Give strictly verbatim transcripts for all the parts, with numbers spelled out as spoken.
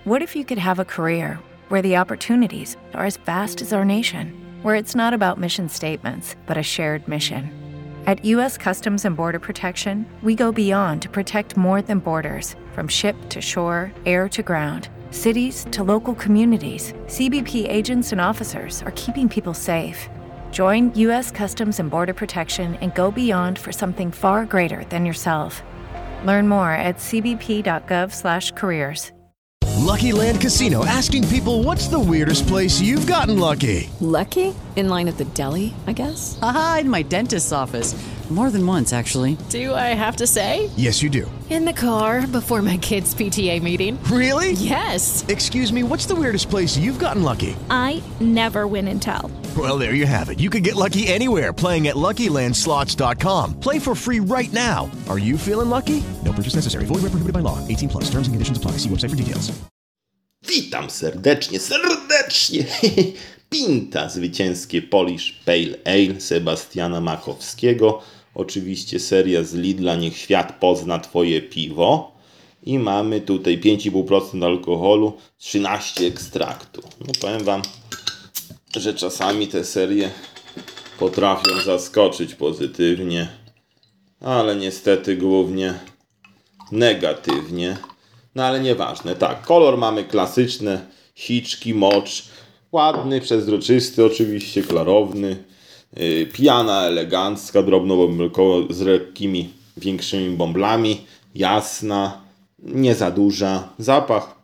What if you could have a career where the opportunities are as vast as our nation, where it's not about mission statements, but a shared mission? At U S Customs and Border Protection, we go beyond to protect more than borders. From ship to shore, air to ground, cities to local communities, C B P agents and officers are keeping people safe. Join U S Customs and Border Protection and go beyond for something far greater than yourself. Learn more at cbp.gov slash careers. Lucky Land Casino, asking people, what's the weirdest place you've gotten lucky? Lucky? In line at the deli, I guess? Aha, in my dentist's office. More than once, actually. Do I have to say? Yes, you do. In the car before my kids' P T A meeting. Really? Yes. Excuse me, what's the weirdest place you've gotten lucky? I never win and tell. Well, there you have it. You can get lucky anywhere, playing at Lucky Land Slots dot com. Play for free right now. Are you feeling lucky? No purchase necessary. Void where prohibited by law. eighteen plus. Terms and conditions apply. See website for details. Witam serdecznie, serdecznie. Pinta, zwycięskie Polish Pale Ale Sebastiana Makowskiego. Oczywiście seria z Lidla, niech świat pozna twoje piwo. I mamy tutaj pięć i pół procent alkoholu, trzynaście ekstraktu. No powiem wam, że czasami te serie potrafią zaskoczyć pozytywnie, ale niestety głównie negatywnie. No ale nieważne, tak, kolor mamy klasyczny, siczki, mocz, ładny, przezroczysty, oczywiście klarowny, yy, pijana elegancka, drobnobąbelkowa z lekkimi, większymi bąblami, jasna, nie za duża, zapach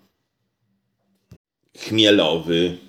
chmielowy,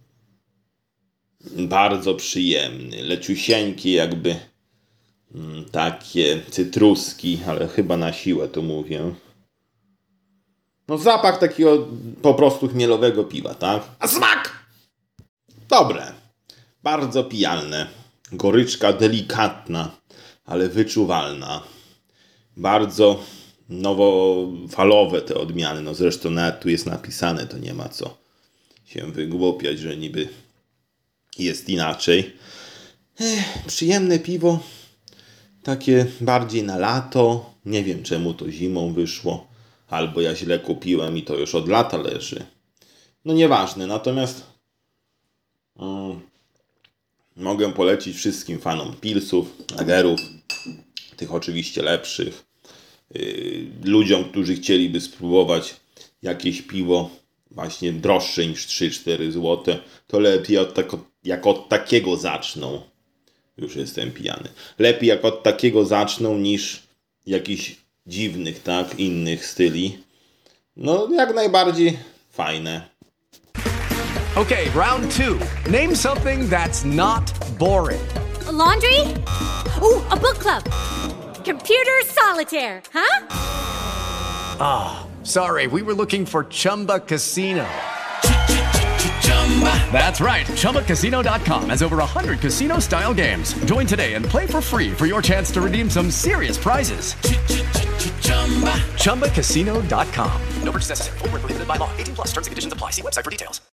bardzo przyjemny, leciusieńki jakby, mm, takie cytruski, ale chyba na siłę to mówię. No zapach takiego po prostu chmielowego piwa, tak? A smak! Dobre. Bardzo pijalne. Goryczka delikatna, ale wyczuwalna. Bardzo nowofalowe te odmiany. No zresztą nawet tu jest napisane, to nie ma co się wygłupiać, że niby jest inaczej. Ech, przyjemne piwo. Takie bardziej na lato. Nie wiem czemu to zimą wyszło. Albo ja źle kupiłem i to już od lata leży. No nieważne, natomiast um, mogę polecić wszystkim fanom pilsów, lagerów, tych oczywiście lepszych, yy, ludziom, którzy chcieliby spróbować jakieś piwo właśnie droższe niż trzy cztery złote, to lepiej od tak, jak od takiego zaczną. Już jestem pijany. Lepiej jak od takiego zaczną niż jakiś dziwnych, tak, innych styli. No, jak najbardziej fajne. Okay, round two. Name something that's not boring. A laundry? Ooh, a book club. Computer solitaire, huh? Ah, oh, sorry, we were looking for Chumba Casino. That's right. Chumba Casino dot com has over one hundred casino-style games. Join today and play for free for your chance to redeem some serious prizes. Chumba Casino dot com. No purchase necessary. Void where prohibited by law. eighteen plus. Terms and conditions apply. See website for details.